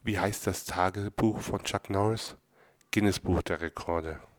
Wie heißt das Tagebuch von Chuck Norris? Guinness Buch der Rekorde.